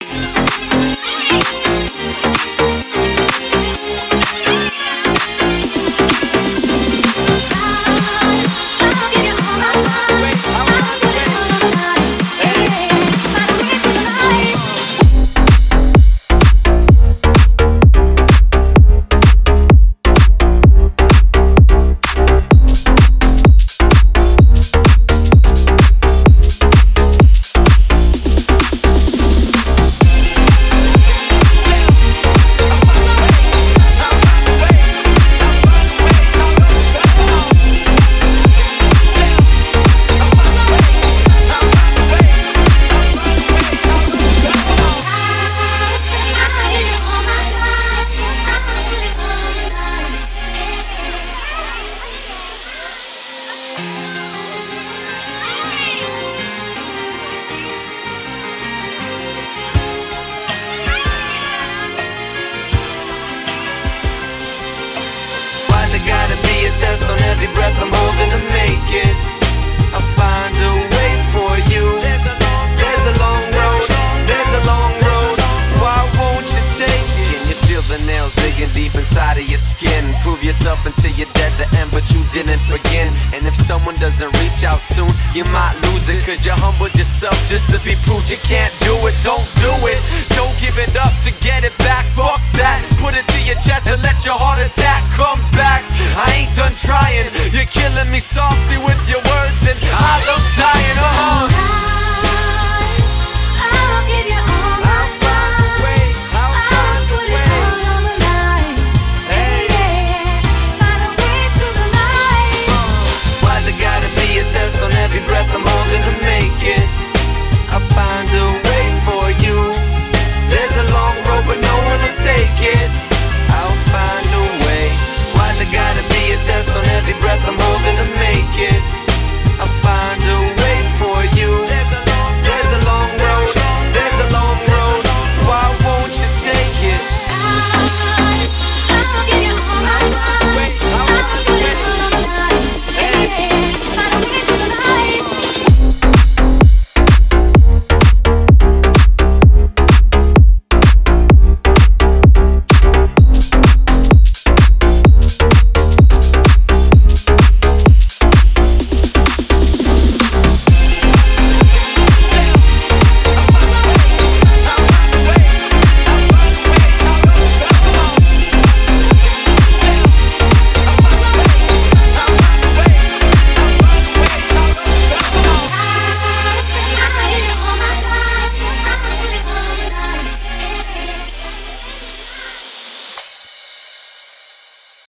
Test on every breath I'm holding to make it. I'll find a way for you. There's a long road, there's a long road. Why won't you take it? Can you feel the nails digging deep inside of your skin? Prove yourself until you're dead the end, but you didn't begin. And if someone doesn't reach out soon, you might lose it, cause you humbled yourself just to be proved you can't do it. Don't